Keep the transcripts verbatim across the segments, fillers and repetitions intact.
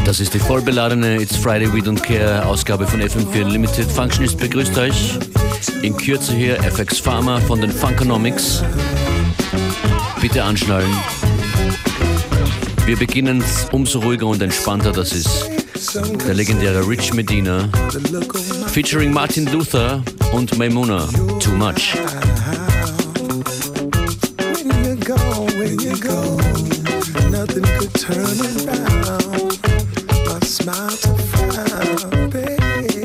Das ist die vollbeladene It's Friday We Don't Care Ausgabe von F M vier Unlimited. Functionist begrüßt euch. In Kürze hier F X Pharma von den Funkonomics. Bitte anschnallen. Wir beginnen umso ruhiger und entspannter. Das ist der legendäre Rich Medina featuring Martin Luther und Maimuna. Too Much. Nothing could turn around my smile to frown, babe.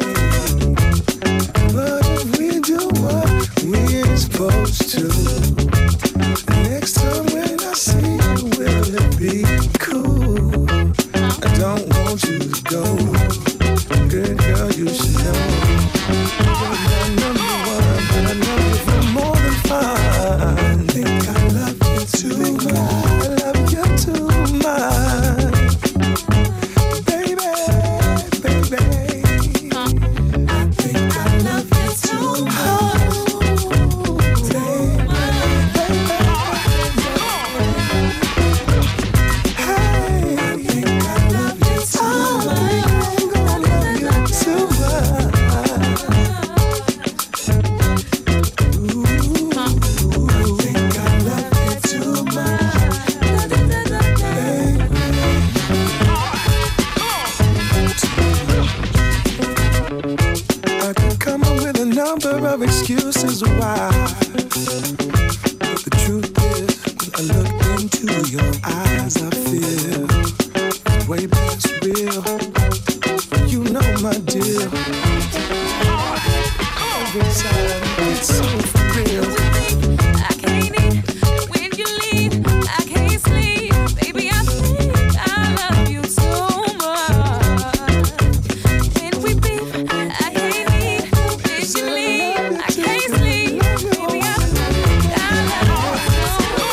But if we do what we're supposed to, next time when I see you, will it be cool? I don't want you to go, good girl, you should know. You're my number one, but I love you for more than fun. I think I love you too much. Too much, baby, baby. I think I love you too much, baby, baby. Hey, I think I love you too much. I love you too much. Ooh, I think I love you too much. Number of excuses why, but the truth is, when I look into your eyes, I feel it's way past real. You know my deal. Every time it's so for real. I can't eat when you leave. I can't sleep, baby. I think I love you so much. When we beat, I can't eat when you leave. I can't sleep, baby. I think I love you so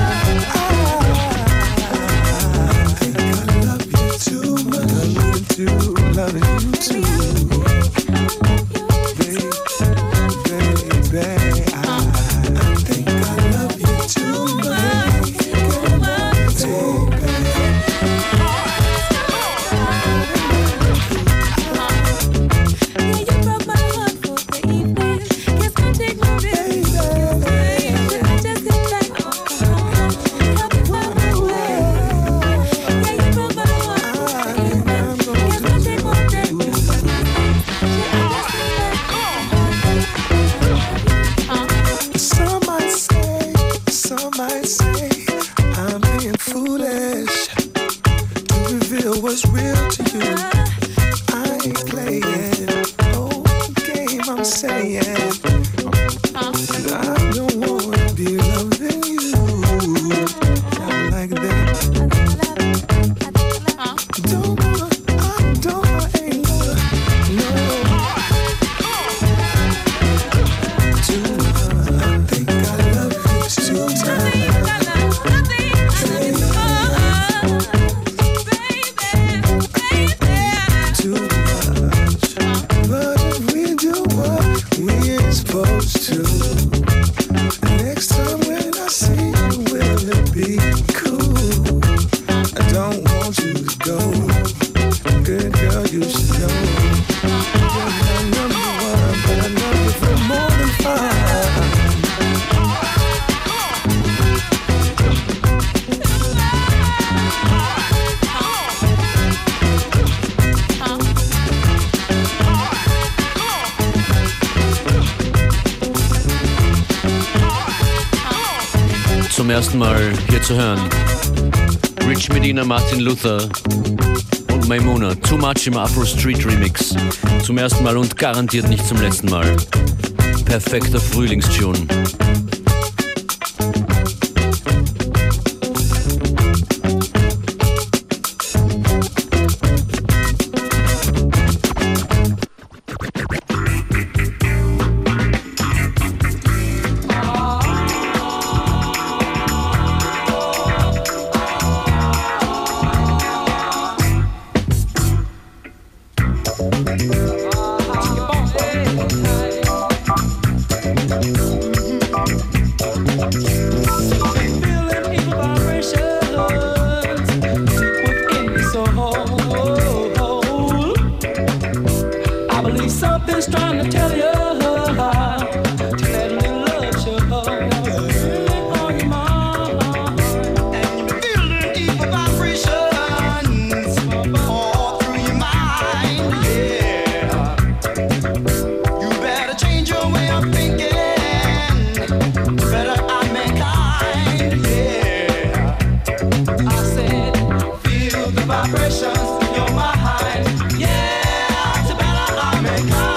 I love you too much. Love you too, loving you too. Zum ersten Mal hier zu hören. Rich Medina, Martin Luther und Maimuna. Too Much im Afro Street Remix. Zum ersten Mal und garantiert nicht zum letzten Mal. Perfekter Frühlingstune. much. just trying to tell you to let me love show really on your mind. And you feel the deep vibrations all through your mind. Yeah, you better change your way of thinking. Better I mankind. Yeah, I said feel the vibrations in your mind. Yeah, it's better I mankind.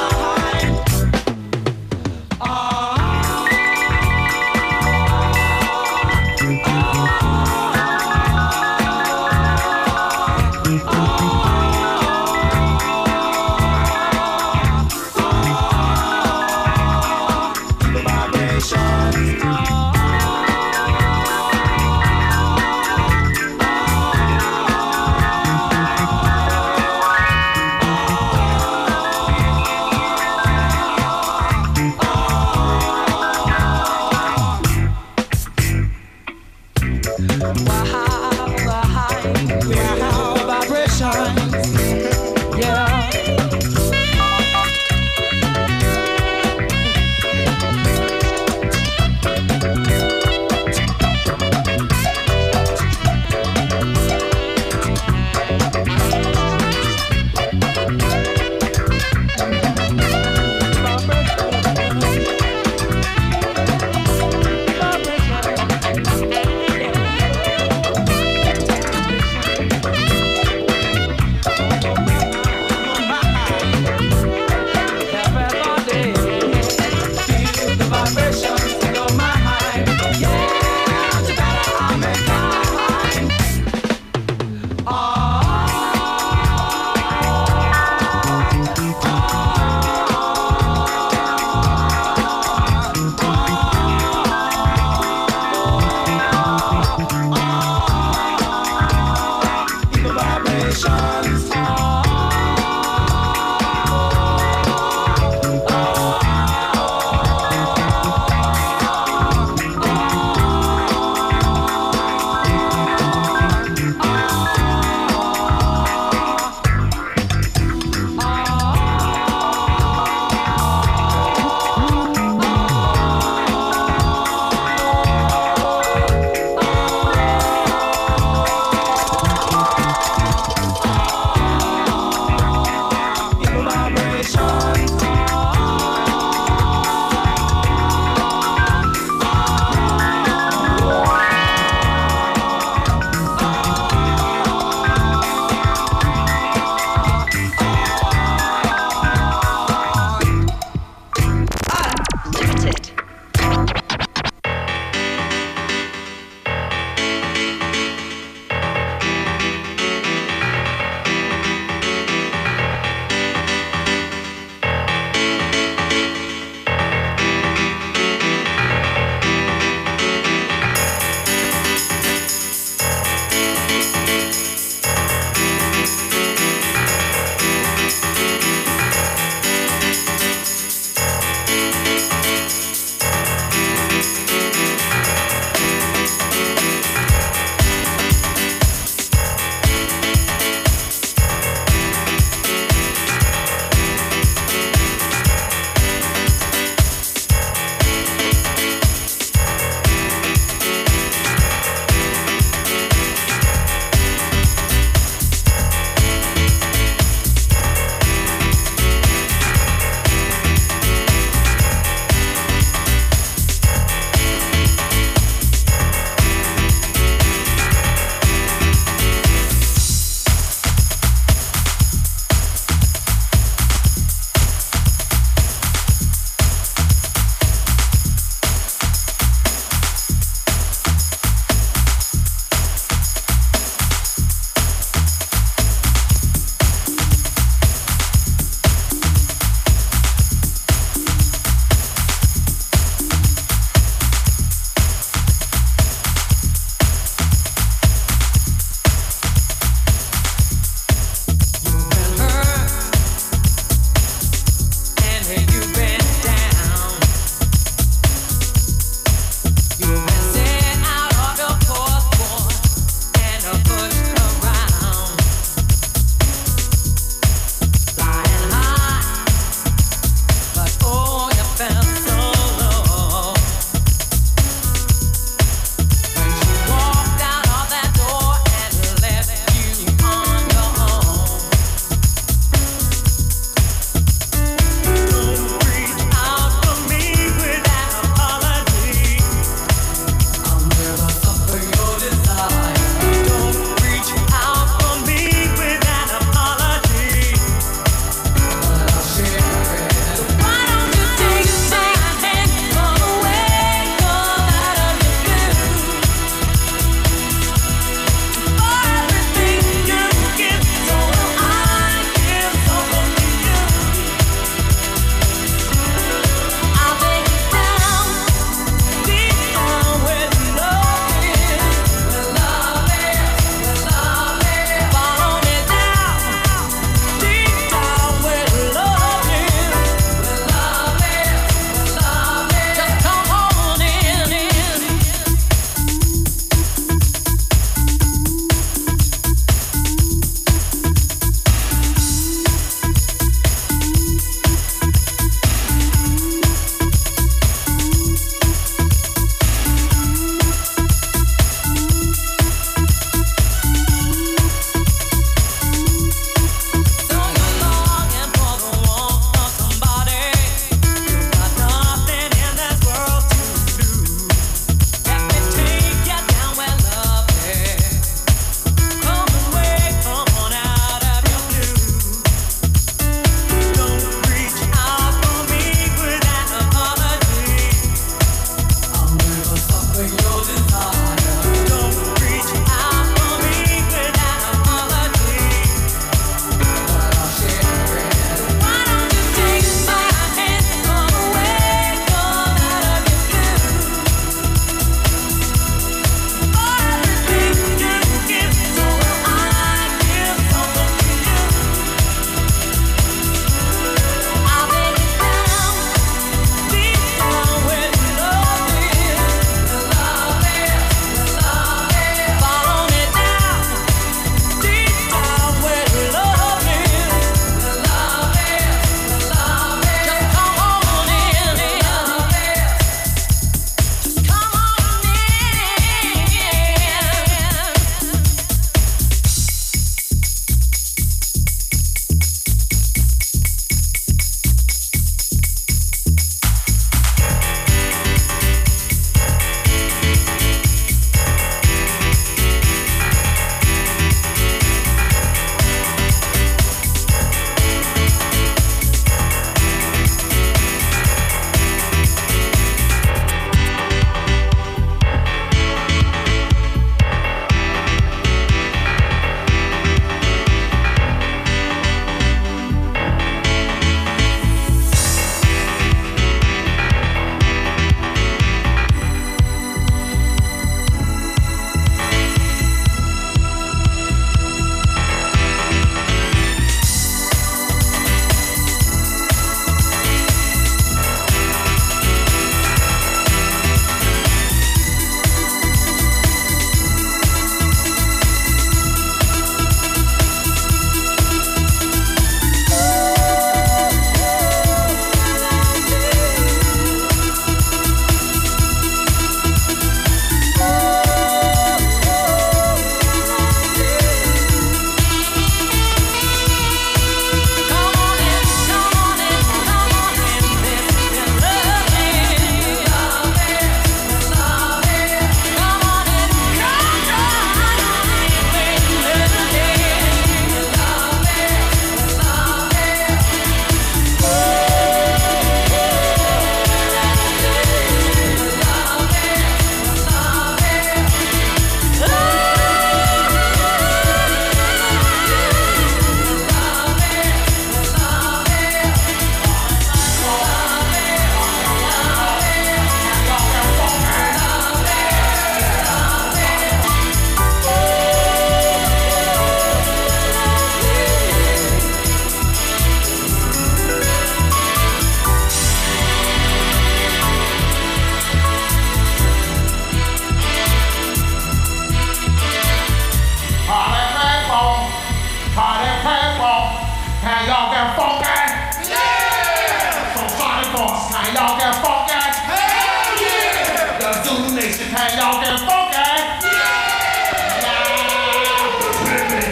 Can y'all get funky? Yeah! So Sonic Boss, can y'all get funky? Hell yeah! The Zulu Nation, can y'all get funky? Yeah! Yeah!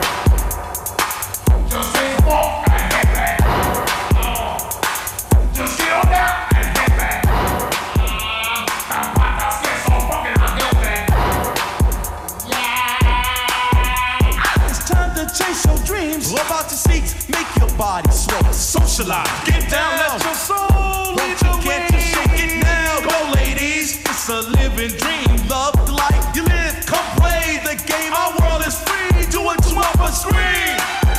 Just say funk and hit me. Oh. Just get on down and hit me. Uh, let's get so funky and hit me. Yeah! It's time to chase your dreams. Love out your seats, make your body sway. Socialize, get down, let your soul lead the way. Can't you shake it now? Go, ladies, it's a living dream. Love the life you live. Come play the game. Our world is free. Do it to up a screen.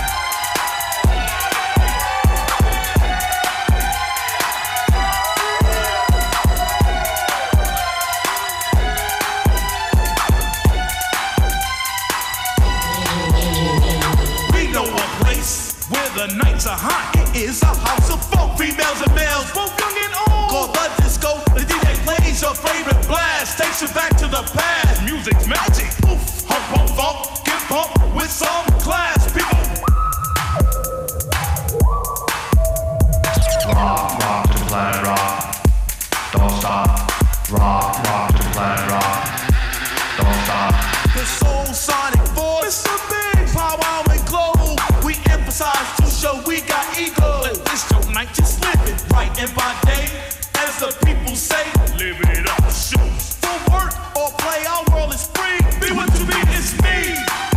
We know a place where the nights are hot. It is a house of funk, females and males, both young and old. Called the disco, the D J plays your favorite blast, takes you back to the past. Music's magic. Oof, hump, hump, funk, get pumped with some class. People Rock, rock to the planet rock. Don't stop. Rock, rock to the planet rock. Don't stop. the soul sonic force. It's a big powwow and glow. We emphasize to show we got ego. It's your night, just live it right and by day. As the people say, live it up, shoot. For work or play, our world is free. Be what you be, it's me.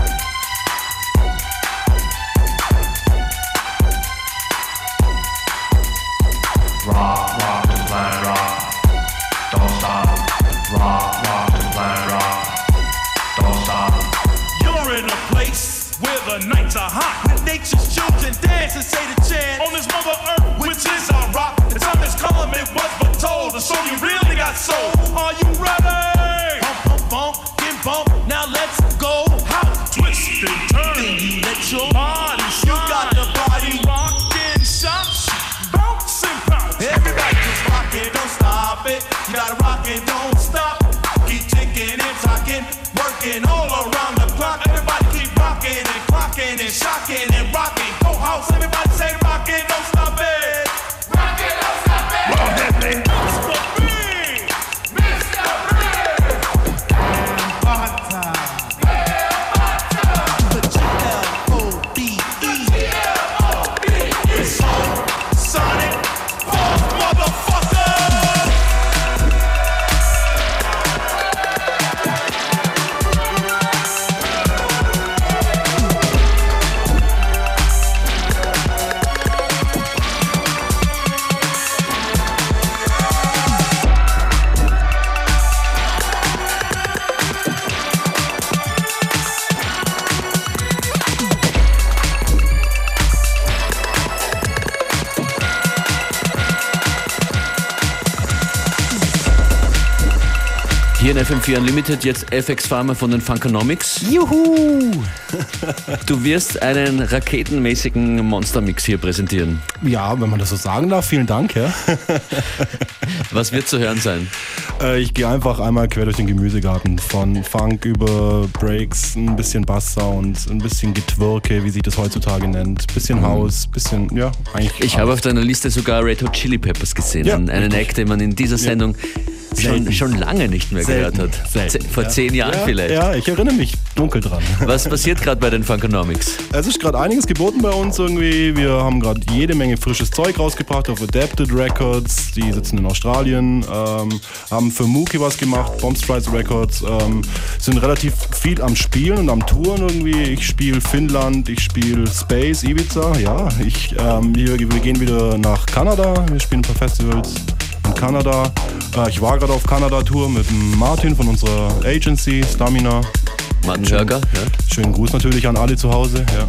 Rock, rock to the planet rock. Don't stop. Rock, rock to the planet rock. Don't stop. You're in a place where the nights are hot. With nature's children dance and say the chant. On this mother earth, which is our rock. It's on this column, it was but told. The soul you really got soul. Are you ready? Pump, pump, bump, get bump. Now let's go. How twist and turn. Then you let your body shine. You got the body rockin', shot, bounce and pounce. Everybody just rock it, don't stop it. You gotta rock it, don't stop. Keep ticking and talking, working all around the clock. Everybody keep rocking and clocking and shocking and rocking. Go house, everybody say rockin', don't stop it. Rock it, don't stop it. Well, hit me. Mister B. Mister Big. The G L O B E. It's Soul Sonic Force, motherfucker. Hier in F M vier Unlimited jetzt F X Farmer von den Funkonomics. Juhu! Du wirst einen raketenmäßigen Monstermix hier präsentieren. Ja, wenn man das so sagen darf, vielen Dank. Ja. Was wird zu hören sein? Äh, ich gehe einfach einmal quer durch den Gemüsegarten. Von Funk über Breaks, ein bisschen Basssound, ein bisschen Getwirke, wie sich das heutzutage nennt. Bisschen House, bisschen, ja, eigentlich. Ich habe auf deiner Liste sogar Red Hot Chili Peppers gesehen. Ja, einen richtig. Act, den man in dieser Sendung schon, schon lange nicht mehr Selten, gehört hat. selten, Z- Vor ja. zehn Jahren ja, vielleicht. Ja, ich erinnere mich dunkel dran. Was passiert gerade bei den Funkonomics? Es ist gerade einiges geboten bei uns irgendwie. Wir haben gerade jede Menge frisches Zeug rausgebracht auf Adapted Records. Die sitzen in Australien. Ähm, haben für Mookie was gemacht, Bombstrides Records. Ähm, sind relativ viel am Spielen und am Touren irgendwie. Ich spiele Finnland, ich spiele Space, Ibiza. Ja, ich, ähm, wir, wir gehen wieder nach Kanada. Wir spielen ein paar Festivals in Kanada. Äh, ich war gerade auf Kanada-Tour mit dem Martin von unserer Agency, Stamina. Martin Hörger, ja. Schönen Gruß natürlich an alle zu Hause. Ja.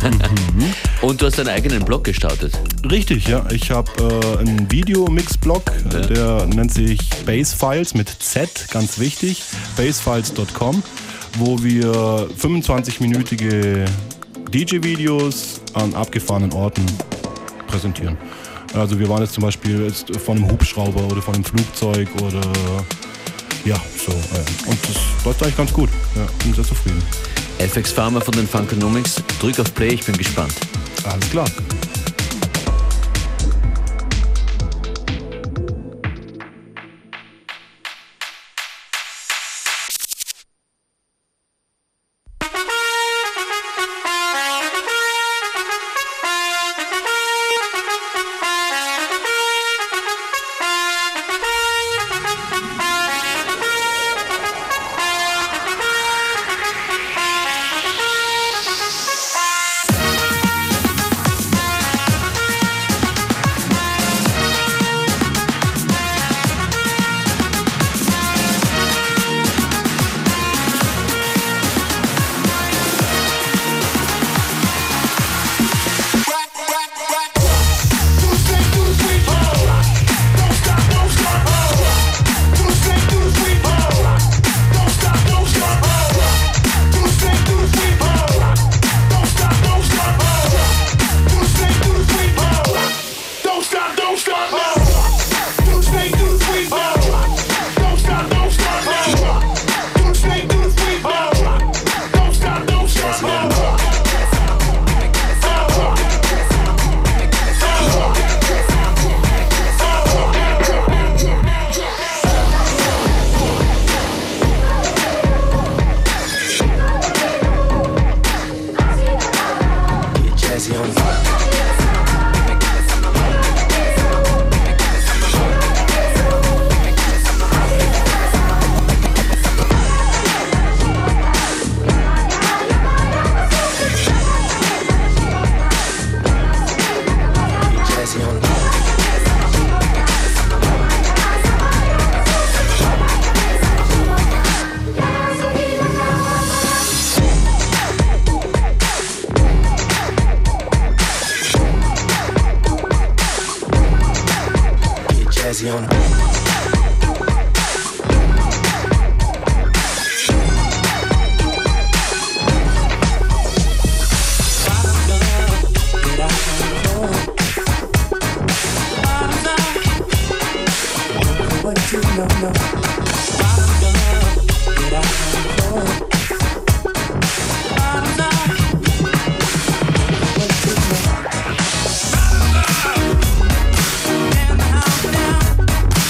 Und du hast deinen eigenen Blog gestartet. Richtig, ja. Ich habe äh, einen Videomix-Blog, Ja. der nennt sich Bassfiles mit Z, ganz wichtig, bassfiles Punkt com, wo wir fünfundzwanzig-minütige D J-Videos an abgefahrenen Orten präsentieren. Also wir waren jetzt zum Beispiel jetzt von einem Hubschrauber oder von einem Flugzeug oder ja, so. Äh, und das läuft eigentlich ganz gut. Ja, bin sehr zufrieden. F X Farmer von den Funkonomics. Drück auf Play, ich bin gespannt. Alles klar. Now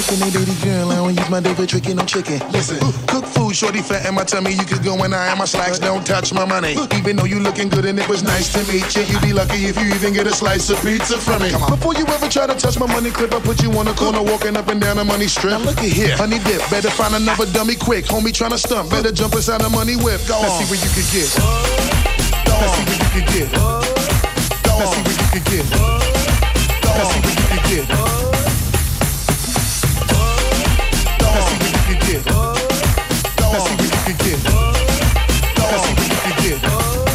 liking a dirty girl, I don't use my dick for tricking no chicken. Listen, cook food, shorty fat in my tummy. You could go and I am my slacks, don't touch my money. Even though you looking good and it was nice to meet you, you be lucky if you even get a slice of pizza from me. Before you ever try to touch my money clip, I put you on the corner walking up and down the money strip. Now look at here, honey dip, better find another dummy quick. Homie tryna stump, better jump inside the money whip. Go Let's on. see what you could get. Let's see what you could get. Let's see what you could get. Let's see what you could get. Let's see what you could get. Let's see what you could get. Let's see what you could get.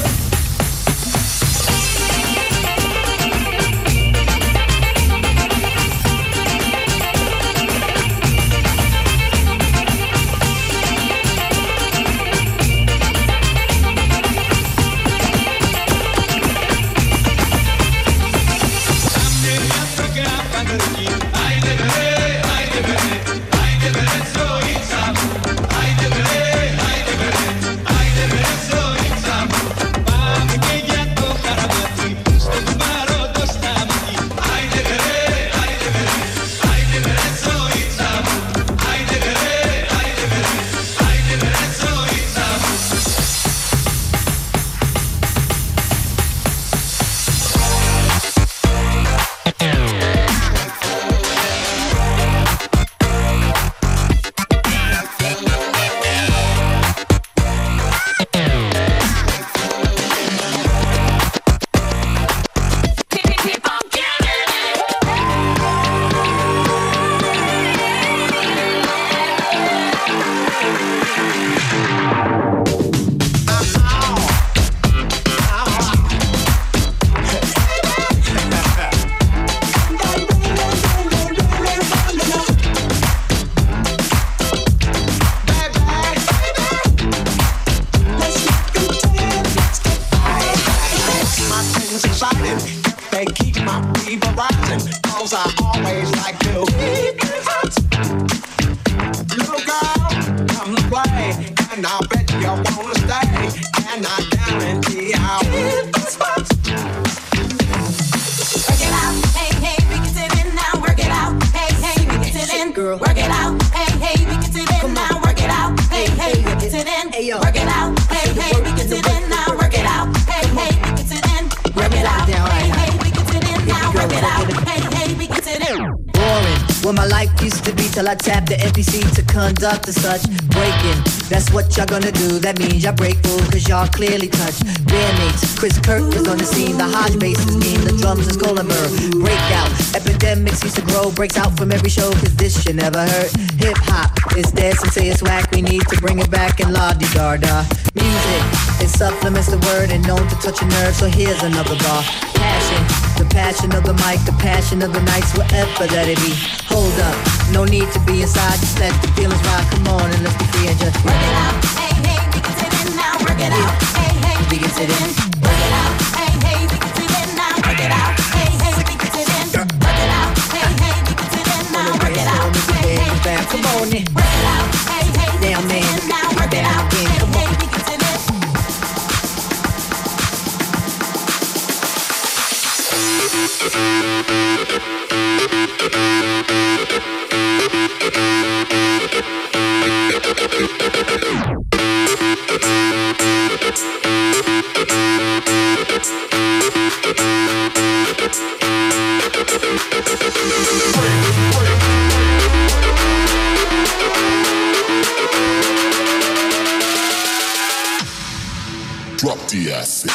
I tap the F E C to conduct and such breaking. That's what y'all gonna do. That means y'all break rules, cause y'all clearly touch. Bandmates, Chris Kirk is on the scene. The Hodge bass is mean, the drums is Colomer. Breakout, epidemics used to grow. Breaks out from every show, cause this shit never hurt. Hip hop is dead, some say it's whack. We need to bring it back and la-di-da-da. Music, it supplements the word and known to touch a nerve. So here's another bar. Passion, the passion of the mic, the passion of the nights, whatever that it be. Hold up, no need to be inside, just let the feelings ride. Come on and let's be free and just work it out. Hey, hey, we can sit in now, work it out. Hey, hey, we can sit in, work it out. Hey, hey, we can sit in now, work it out. Hey, hey, we can sit in, work it out. Hey, hey, we can sit in now, work it out. Hey, hey, come on in, work it out. Hey, hey, damn man, now work it out. Hey, hey, we can sit in. Drop the acid.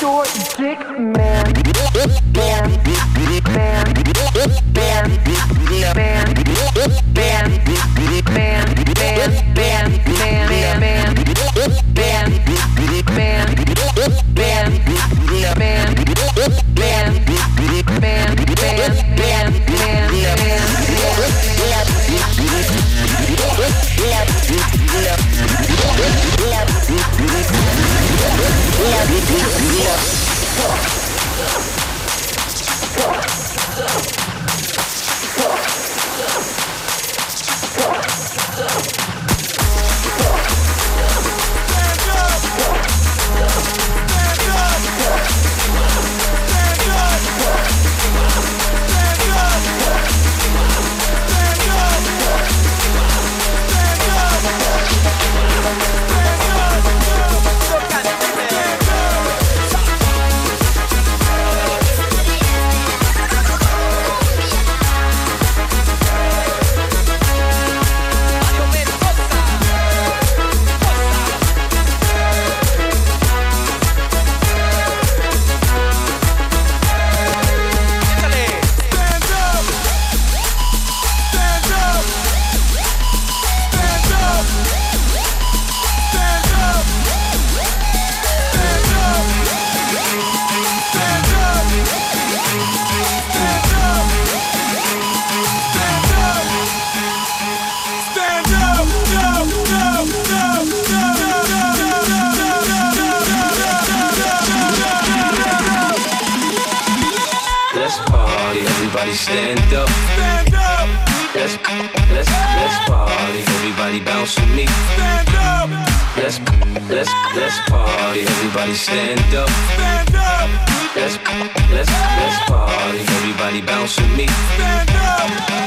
short dick man. Man, man, man, man, man, man, man, man, man, Everybody stand up. Stand up. Let's let's let's party. Everybody bounce with me. Stand up. Let's let's let's party. Everybody stand up. Stand up. Let's let's let's party. Everybody bounce with me. Stand up.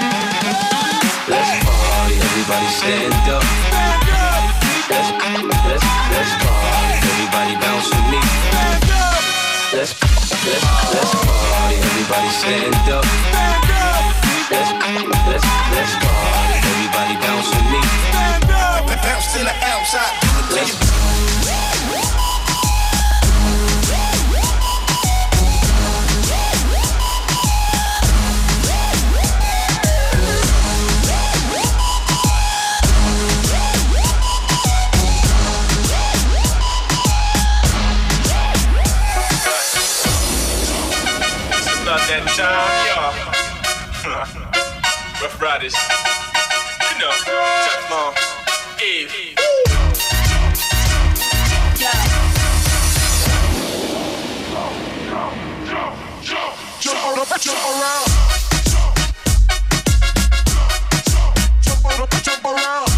Let's party. Everybody stand up. Stand up. Let's let's let's party. Everybody bounce with me. Stand up. Let's let's let's party. Everybody stand up. Stand up. Let's let's let's party. Everybody bounce with me. Stand up. Bounce to the outside. Let's that time, y'all. Rough Riders, you know, Teflon, Eve. Jump up, jump around. Jump up, jump around.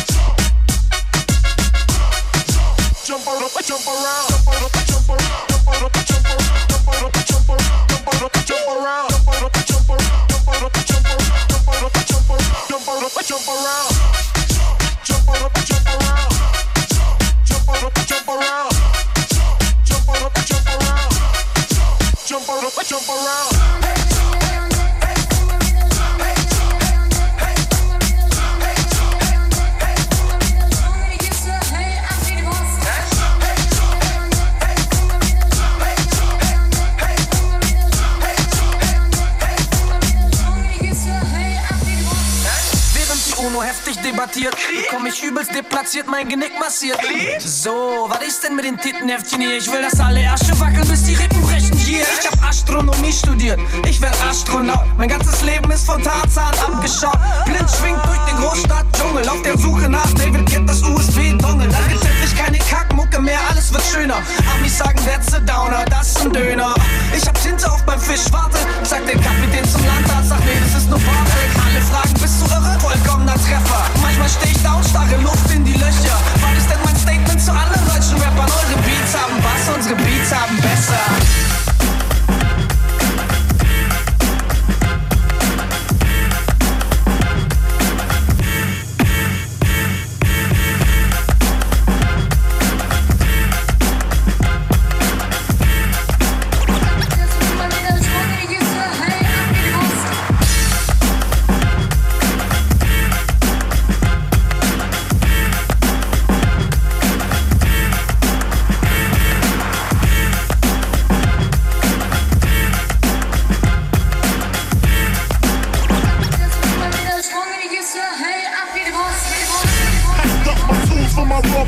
Jump up, jump around. Jump up, jump around. Jump up, jump around. Jump up, jump around. Jump up, jump around. Jump up, jump around. Jump up, jump around. Jump up, jump around. Jump up, jump around. Jump up, jump around. Jump up, jump around. Jump up, jump around. Jump up, jump around. Heftig debattiert, komm ich übelst deplatziert, mein Genick massiert. So, was ist denn mit den Tittenheftchen hier? Ich will, dass alle Ärsche wackeln, bis die Rippen brechen hier. Ich hab Astronomie studiert, ich werd Astronaut. Mein ganzes Leben ist von Tarzan abgeschaut. Blind schwingt durch den Großstadt-Dschungel, auf der Suche nach David Guetta, das U S B-Dongle. Dann gibt's endlich keine Kackmucke mehr, alles wird schöner. Amis sagen, that's a Downer, das ist ein Döner. Ich hab Tinte auf beim Fisch, warte, sag der Kapitän zum Landarzt, sag nee, das ist nur Bartek. Alle fragen, bist du irre? Vollkommener Treffer. Manchmal steh ich da und starre Luft in die Löcher. Was ist denn mein Statement zu anderen deutschen Rappern? Eure Beats haben Bass, unsere Beats haben besser.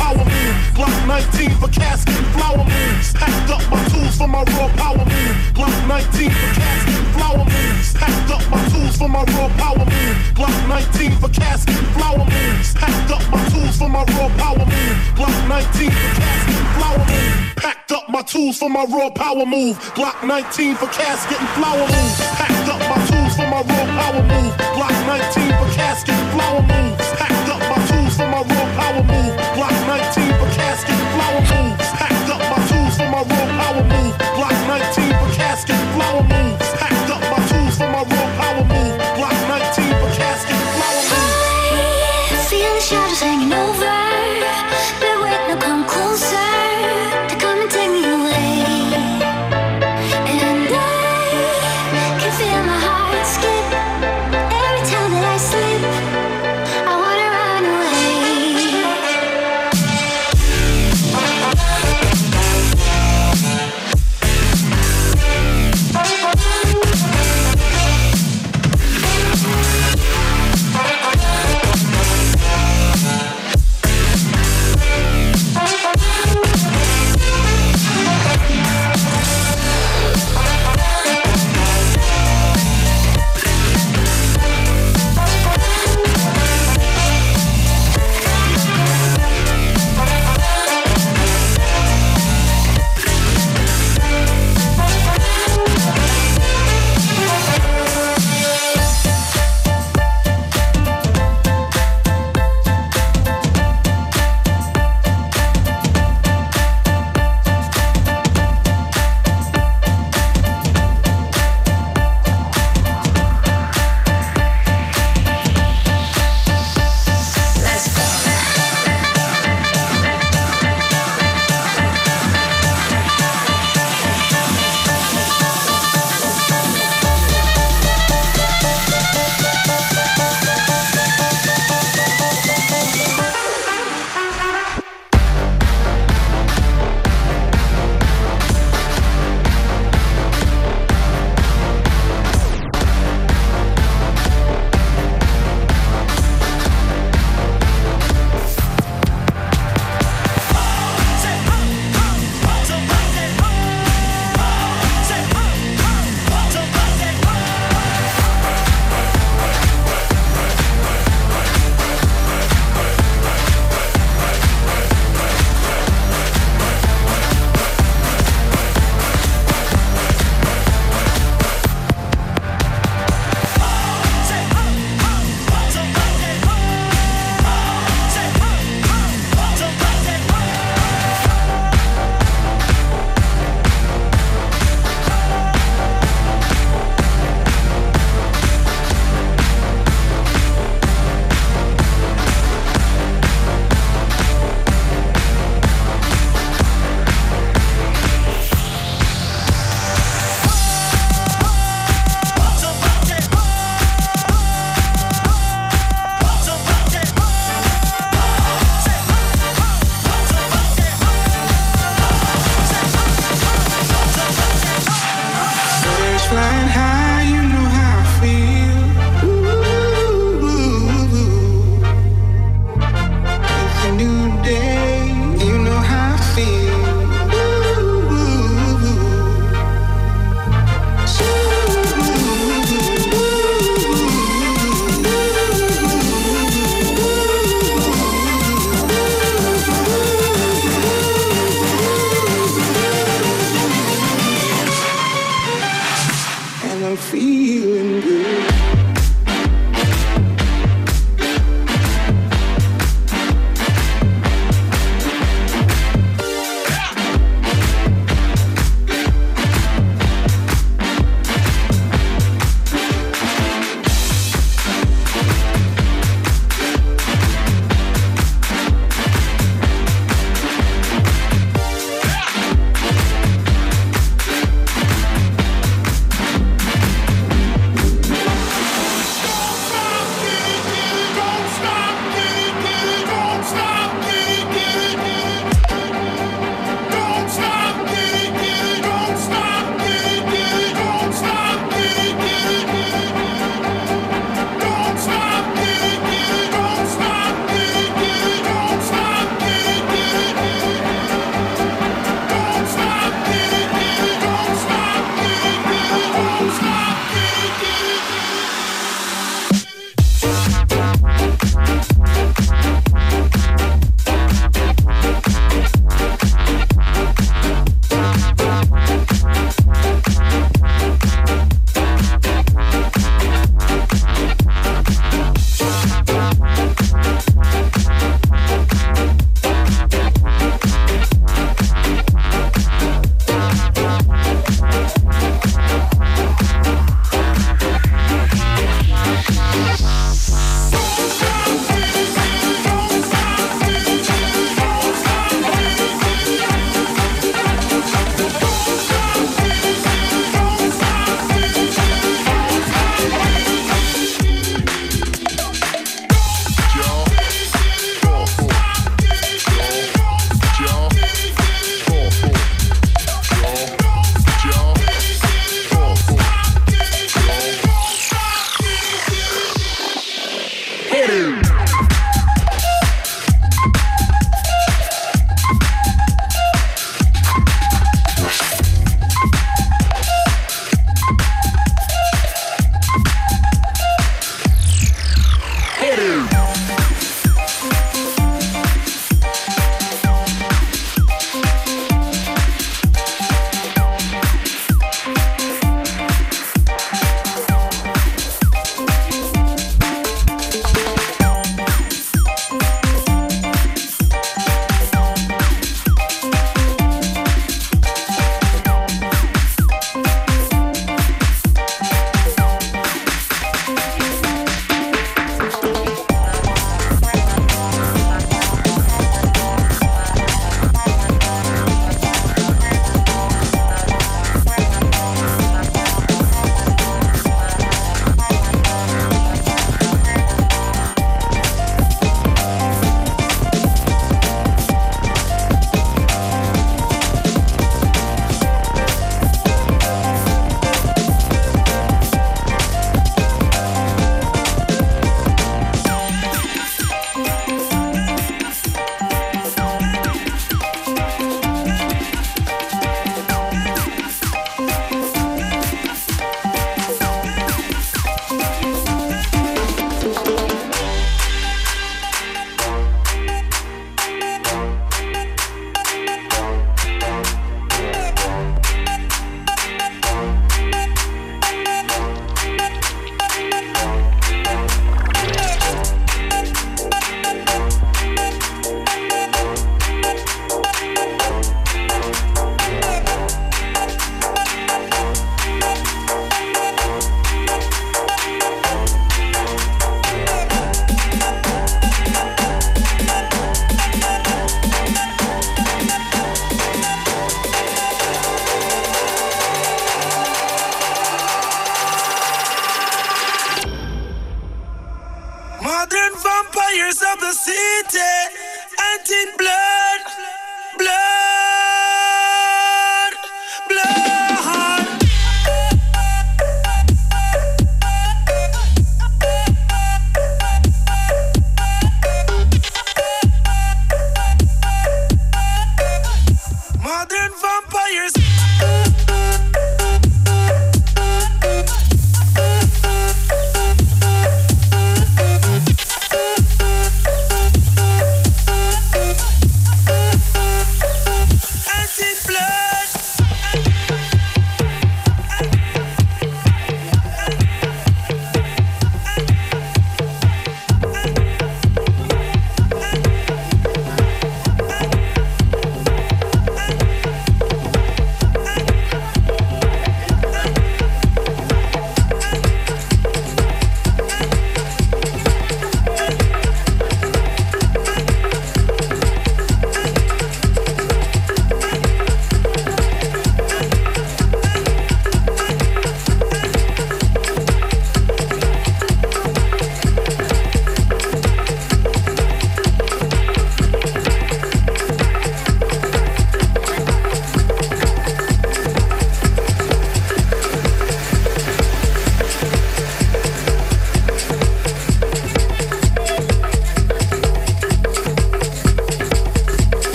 power move. Glock nineteen for casket and flower moves. Packed up my tools for my raw power move. Glock nineteen for casket and flower moves. Packed up my tools for my raw power move. Glock nineteen for casket and flower moves. Packed up my tools for my raw power move. Glock nineteen for casket and flower move. Packed up my tools for my raw power move. Glock nineteen for casket and flower moves. Packed up my tools for my raw power move. Glock nineteen for casket and flower moves. Packed up my tools for my raw power move.